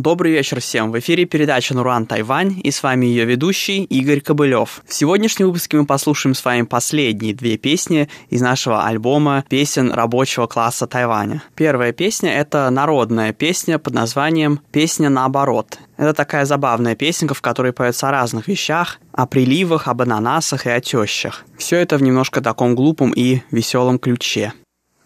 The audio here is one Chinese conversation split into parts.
Добрый вечер всем. В эфире передача «Нуран Тайвань» и с вами ее ведущий Игорь Кобылев. В сегодняшнем выпуске мы послушаем с вами последние две песни из нашего альбома песен рабочего класса Тайваня. Первая песня — это народная песня под названием «Песня наоборот». Это такая забавная песенка, в которой поется о разных вещах, о приливах, об ананасах и о тещах. Все это в немножко таком глупом и веселом ключе.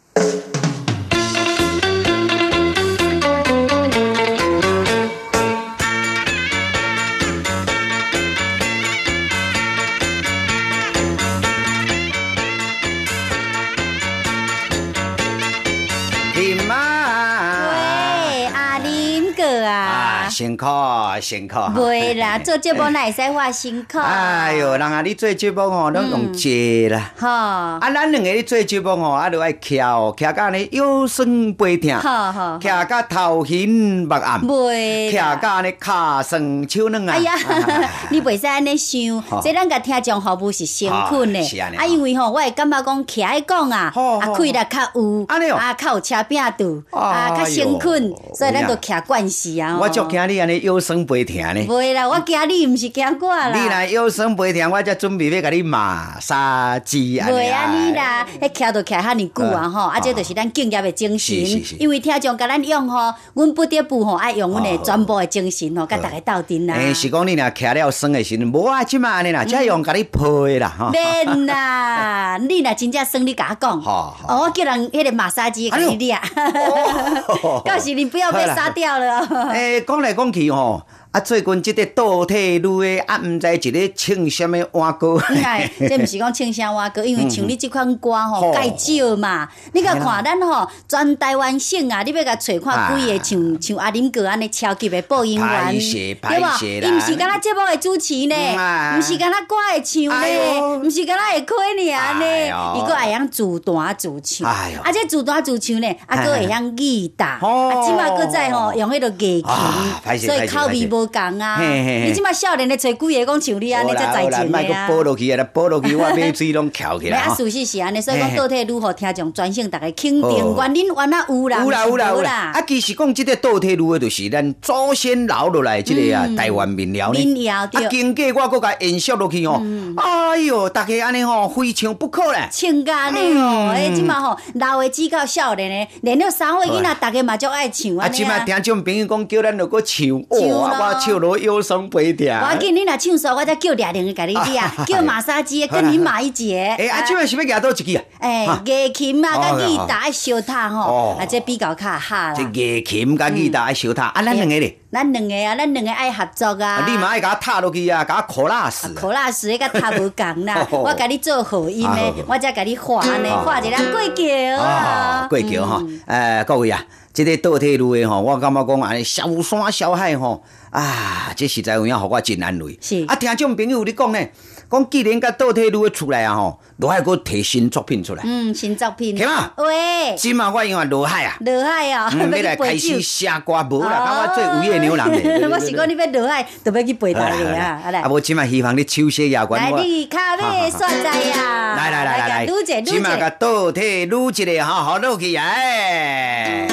辛苦辛苦， 袂啦，做节目哪会使话辛苦？ 哎哟，人啊，你做节目吼，拢用坐啦。 好， 啊，咱两个咧做节目吼，啊，就爱徛哦，徛到呢腰酸背痛， 好， 徛到头晕目暗， 袂， 徛到呢骹酸手软啊。 哎呀，你袂使安尼想，这咱甲听众服务是先困的，啊，因为吼，我会感觉讲徛爱讲啊，啊，气力较有，啊，较有车柄度，啊，较先困，所以咱就徛惯势啊。 我足惊你安尼腰酸背痛呢。 袂啦，我惊你，毋是惊我啦。 你若腰酸背痛，我才准备要甲你马杀鸡安尼。 袂安尼啦，迄徛就徛遐尼久啊吼，啊，这就是咱敬业的精神。因为听众甲咱用吼，阮不得不吼爱用阮的全部的精神吼，甲大家斗阵啦。 是讲你若徛了酸的时阵，无啊，即马安尼啦，才用甲你配啦吼。 免啦，你若真正酸，你甲我讲。我叫人迄个马杀鸡甲你掠。到时你不要被杀掉了。 讲来讲去吼。啊，最近即个倒退路的啊，毋知一个唱什么歌歌。 这毋是讲唱啥歌歌，因为唱你即款歌吼介少嘛。你甲看咱吼，全台湾省啊，你要甲找看几个像阿林哥安尼超级的播音员，对无？伊毋是敢若节目的主持呢，毋是敢若歌会唱呢，毋是敢若会开尔呢，伊个会晓自弹自唱。啊，这自弹自唱呢，啊，个会晓吉他，啊，即马个在吼用迄个乐器，所以口味无共啊！你即马少年咧找几个讲像你安尼才才情的啊！ 报落去啊，报落去，我尾水拢翘起来。 啊，事实是安尼，所以讲倒退路互听众专省大家肯定，原恁原来有啦，有啦。 啊，其实讲即个倒退路的，就是咱祖先留落来即个啊台湾民谣呢。 民谣对。 啊，经过我搁甲延续落去哦。哎哟，大家安尼吼非唱不可咧。 唱甲呢吼，即马吼老的只到少年的，连了3岁囡仔，大家嘛足爱唱安尼啊。 即马听众朋友讲叫咱落搁唱，我唱落腰酸背痛。 我见你若唱错，我再叫俩人甲你掠，叫马杀鸡跟你马一节。 即摆是要夹倒一支啊？ 乐琴啊，甲吉他爱相塔吼，这比较较哈啦。 这乐琴甲吉他爱相塔，啊，咱两个咧？ 咱两个爱合作啊！ 你嘛爱甲我踏落去啊，甲我考拉丝。 考拉丝迄甲踏无共啦，我甲你做和音的，我才甲你画呢，画一个过桥啊。 过桥吼，各位啊，这个倒退路的吼，我感觉讲安尼小山小海吼，啊，这实在有影互我真安慰。 是。 啊，听众朋友你讲呢？讲既然甲倒退路的出来啊吼，罗海搁摕新作品出来。 新作品。 是嘛？ 喂。 今嘛我因为罗海啊。 罗海啊， 要来开始写歌无啦，甲我做有业牛郎咧。 我是讲你要罗海，就要去陪他咧啊！ 啊，无今嘛希望你手写夜关。 来，你卡尾煞在呀！ 来，今嘛甲倒退路一个好好落去哎。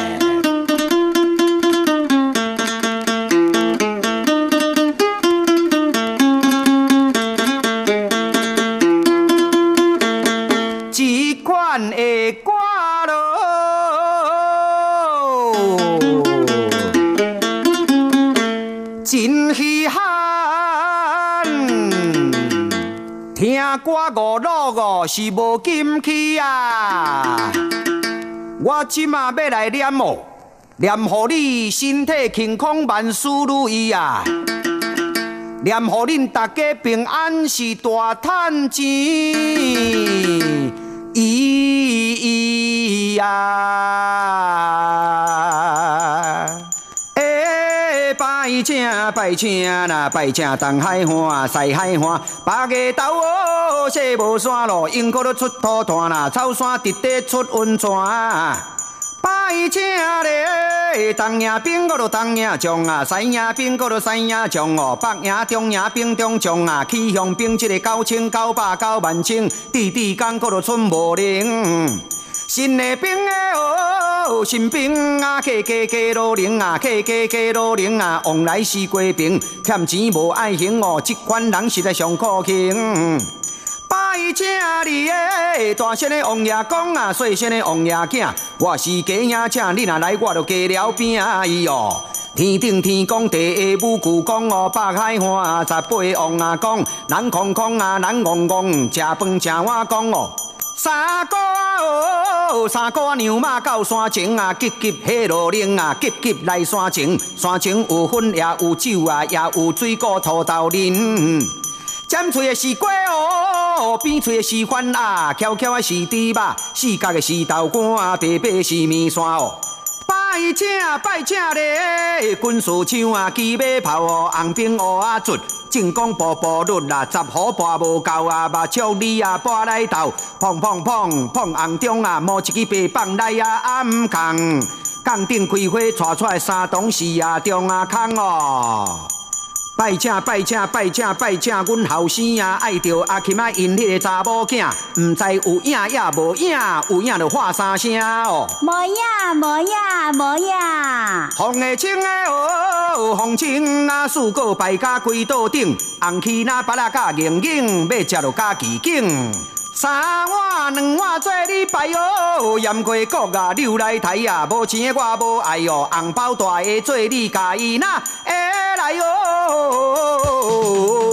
的歌咯，真稀罕。听歌565是无禁气啊！我即马要来念哦，念互你身体健康，万事如意啊！念互恁大家平安是大赚钱。咿呀，拜请啦，拜请东海岸、西海岸，八月头哦，雪无山路，樱花都出土炭啦，草山直地出温泉。拜请咧，东营兵我就东营将啊，西营兵我就西营将哦，北营、中营兵中将啊，起向兵一个9900、90000，滴滴讲我就寸无灵。 新的兵哦，新兵啊，加路零啊，加路零啊，往来是过兵，欠钱无爱还哦，这款人实在上可行。拜请你的大声的王爷公啊，细声的王爷囝，我是家兄请，你若来我就加了饼伊哦。天顶天公地下武句讲哦，北海岸18王啊讲，人空空啊，人戆戆，食饭食碗讲哦。三哥哦，三哥娘马到山前啊，急急下路铃啊，急急来山前，山前有粉也有酒啊，也有水果土豆啉。尖嘴的是鸡哦，扁嘴的是番啊，翘翘的是猪肉，四角的是豆干，白白是面线哦。拜请咧，军事枪啊，机马炮哦，红兵乌啊卒，正讲步步率啊，十虎跋无够啊，目睭里啊跋来斗，砰砰砰砰红中啊，摸一支白棒来啊暗扛，杠顶开花带出来三董事啊，中啊空哦。拜请，阮后生啊，爱着阿琴啊，因迄个查某囝，毋知有影也无影，有影就喊三声哦。 无影。 红的青的哦，红青啊，四个摆甲规桌顶，红旗那巴拉甲硬硬，要食就加奇景。三碗两碗做你拜哦，盐过国啊，溜来台啊，无钱的我无爱哦，红包大的做你家己那会来哦。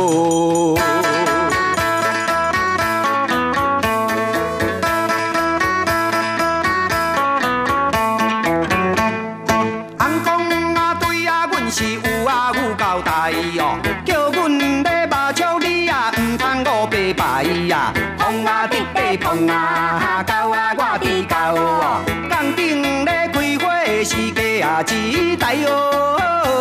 红公啊对啊，阮是有啊有交代哦，叫阮咧目睭里啊，毋通五白白呀。碰啊直白碰啊，到啊我伫到哦，杠顶咧开花是鸡啊一台哦。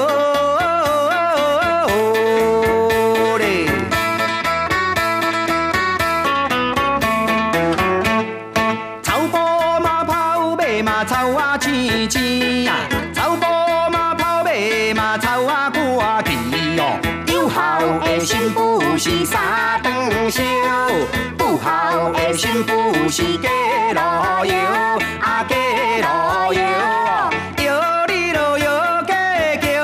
草埔嘛跑马嘛草啊青青啊，草埔嘛跑马嘛草啊过去哦。有孝的新妇是三顿烧。不孝的新妇是假路油，啊假路油，摇你咯摇假桥。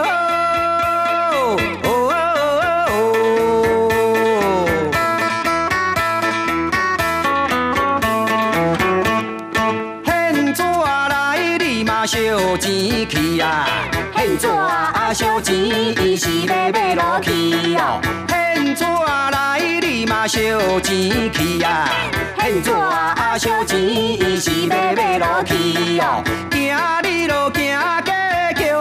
现纸来你嘛烧钱去啊，现纸烧钱伊是要买落去哦。现纸来你嘛烧钱去啊，现纸烧钱伊是要买落去哦。行你咯行假桥，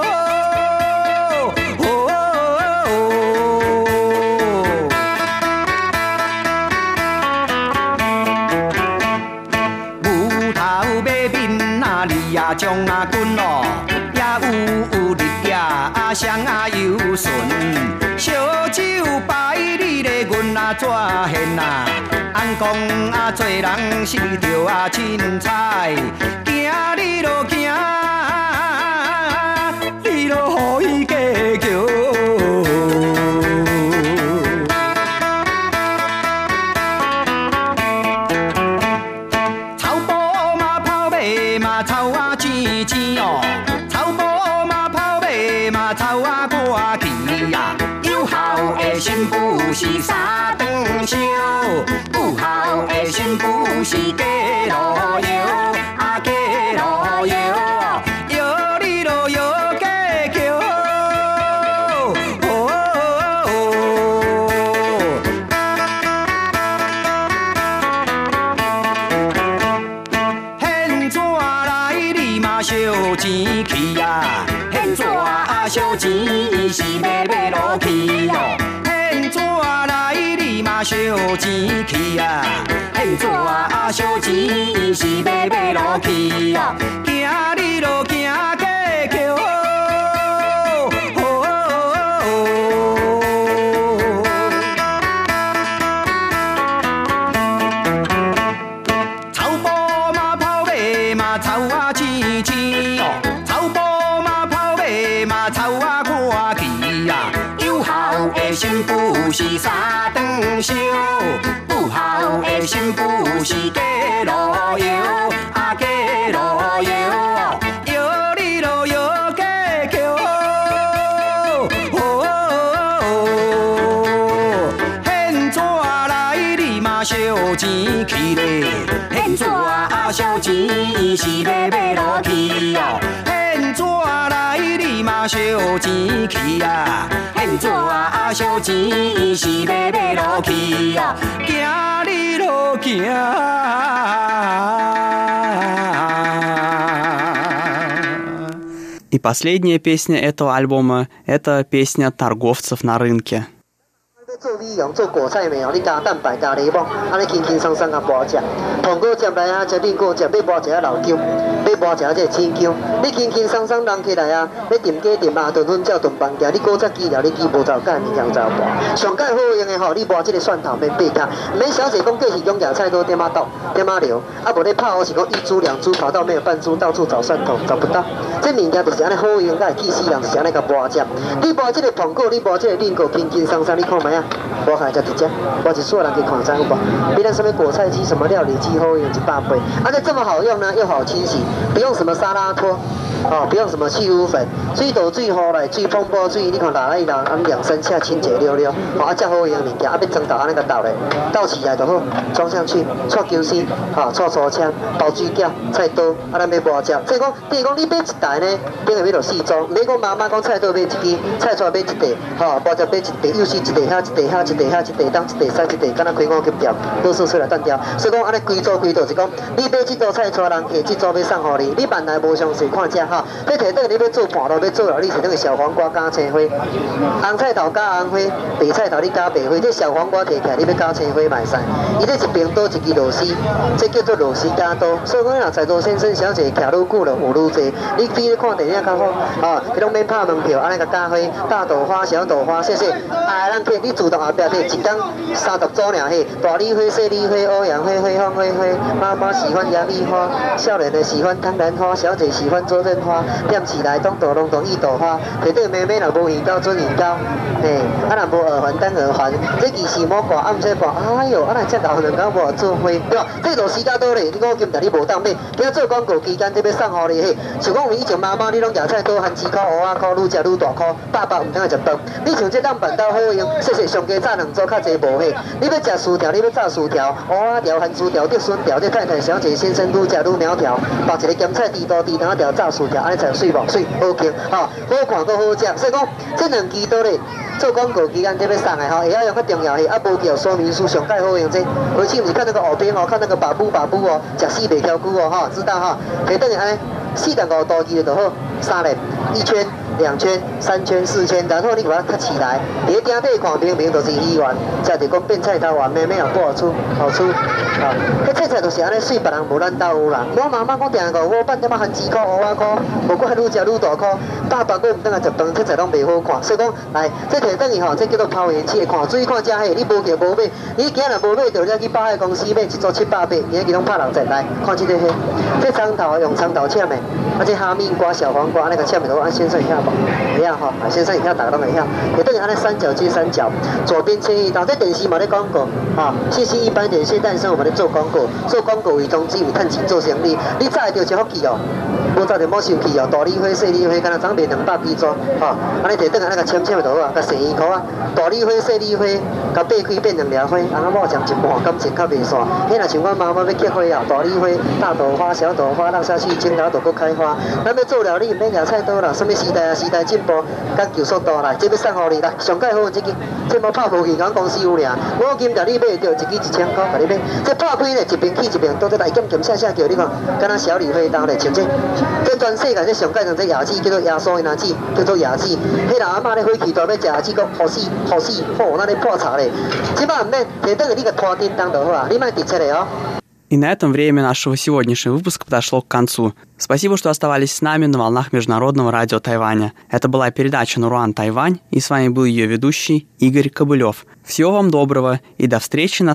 牛头马面啊，你呀将啊滚咯，也有日夜双啊游顺。烧酒摆你咧，阮啊怎现啊？按讲啊，做人是着啊凊彩，行你咯行，你咯予伊加桥。草埔嘛跑马嘛草啊青青哦，草埔嘛跑马嘛草啊过去呀。有孝的新妇是三顿烧，不孝的新妇是假路油，啊假路油，摇你咯摇假桥。现纸来你嘛烧钱去呀，现纸烧钱伊是要买落去哦。现纸来你嘛烧钱去啊，现纸烧钱伊是要买落去哦。行你咯行假桥。草埔嘛跑马嘛草啊青青哦，草埔嘛跑马嘛草啊过去呀。有孝的新妇是三顿烧，不孝的新妇是假路油，啊钱去咧，现纸啊烧钱是要落去哦，现纸来你嘛烧钱去啊，现纸啊烧钱是要落去哦，行你路行。 И последняя песня этого альбома – это песня торговцев на рынке. 做美容做果菜面哦，你加蛋白加柠檬，安尼轻轻松松啊剥食，糖果接来啊，接面果接，要剥一下老姜，要剥一下这青姜，你轻轻松松弄起来啊，你炖鸡炖鸭炖粉饺炖饭羹，你果汁机了，你记无走干物件走剥，上盖好用的吼，你剥这个蒜头免八卡，免小姐讲过是用野菜多点仔倒点仔流，啊无你泡是讲一株两株跑到没有半株，到处找蒜头找不到，这物件就是安尼好用，甲会气死人，就是安尼甲剥食，你剥这个糖果，你剥这个面果，轻轻松松，你看卖啊。我看才直接，我一所有人去看知有无？比咱什么果菜机、什么料理机好用100倍，而且这么好用呢，又好清洗，不用什么沙拉拖，哦，不用什么去污粉，水倒水壶来，水风波水，你看拿来拿，按2-3下清洁溜溜，哦，啊，这好用物件，啊，要装倒安尼个倒咧，倒起来就好，装上去，搓姜丝，哈，搓粗枪，包水饺、菜刀，啊，咱要剥食。所以讲，等于讲你买一台呢，等于要落4装，唔免讲妈妈讲菜刀买1支，菜菜买1袋，哈，剥食买1袋，又是1袋遐、1袋遐、1袋遐、1袋当、1袋3、1袋，敢若开5级店，都数出来单调。所以讲，安尼规组规度是讲，你买这组菜带人客，这组要送互你，你万来无详细看遮哈。你摕倒你要做盘路，要做了，你摕倒个小黄瓜加青花，红菜头加红花，白菜头你加白花，这小黄瓜摕起来，你要加青花嘛会使。伊这一边倒1支螺丝，这叫做螺丝加刀。所以讲，若在座先生小姐徛愈久了，有愈济。你比咧看电影较好，啊，你拢免拍门票，安尼个加花，大豆花、小豆花，谢谢。啊，咱客你自动后壁摕一缸30组尔嘿，大丽花、小丽花、欧阳花、花芳花花，妈妈喜欢洋丽花，少年的喜欢汤兰花，小姐喜欢周润花。点起来，东朵龙朵一朵花，摕倒妹妹若无耳高准耳高，嘿，啊若无耳环单耳环，这期是莫挂暗说挂，哎哟，啊若遮老两狗无做花，对吧？这螺丝加多咧，你5金但你无当买，今做广告期间这要送互你嘿，像讲有以前妈妈你拢野菜多含2块、5仔块，愈食愈大块，爸爸唔通食饭，你像这当板豆好用，谢谢上加炸2组较济无嘿，你要食薯条，你要炸薯条，蚵仔条、含薯条、竹笋条，这太太小姐先生愈食愈苗条，包一个咸菜猪肚猪肠条炸薯条，安尼才水无水。好轻，吼，好看阁好食，所以讲这2支倒咧做广告期间这要送的吼，会晓用较重要是啊，无叫说明书上盖好用这，而且你看那个后边哦，看那个把布哦，食死袂挑久哦，哈，知道哈，摕倒去安尼4.5度记就好，3粒1圈。2圈、3圈、4圈，然后你把它卡起来，你顶底看明明就是鱼丸，食着讲变菜头丸，妹妹也不好吃，好吃。啊，迄菜就是安尼水，别人无咱兜有啦。我妈妈讲定个，我饭点仔含2块、5仔块，无过还愈食愈大块。爸爸佫唔等下食饭，菜菜拢袂好看。所以讲，来，这摕倒去吼，这叫做抛元气，看水看遮嘿，你无叫无买，你今日无买着再去百货公司买一组700八，今日拢拍60来，看这个嘿，这葱头用葱头切的，啊这哈密瓜、小黄瓜那个切的都按先生一下。一样哈，先生一下大家都会晓。也等于按那3角接3角，左边切一刀。在电视嘛在广告啊，谢谢一般点谢诞生，我们在做广告，做广告为宗旨，为趁钱做生意。你早就一福气哦，无早就莫生气哦。大丽花、小丽花，敢若总卖200几组，哈，安尼摕等下那个签签就好啊，甲洗衣裤啊，大丽花、小丽花，甲掰开变2粒花，翁某将一半，感情较袂散。迄若像阮妈妈要结花啊，大丽花、大豆花、小豆花，落下去青桃都搁开花。咱要做料理，免野菜刀啦，什么时代啊？时代进步，讲求速度来，这要送互你来，上盖好这支，这无拍无去，咱公司有俩。我今日你买着一支1000块，甲你买。这拍开呢，一边起一边倒，这来减下叫你看，敢若小李花刀咧，像这全世界这上盖上这牙齿叫做亚索因牙齿，叫做牙齿。迄人阿嬷咧火气大要食牙齿，讲好死，好，那咧破茶咧。即摆唔免，摕倒去你个拖叮当就好啊，你莫直切咧哦。 И на этом время нашего сегодняшнего выпуска подошло к концу. Спасибо, что оставались с нами на волнах Международного радио Тайваня. Это была передача «Наруан Тайвань», и с вами был ее ведущий Игорь Кобылев. Всего вам доброго и до встречи на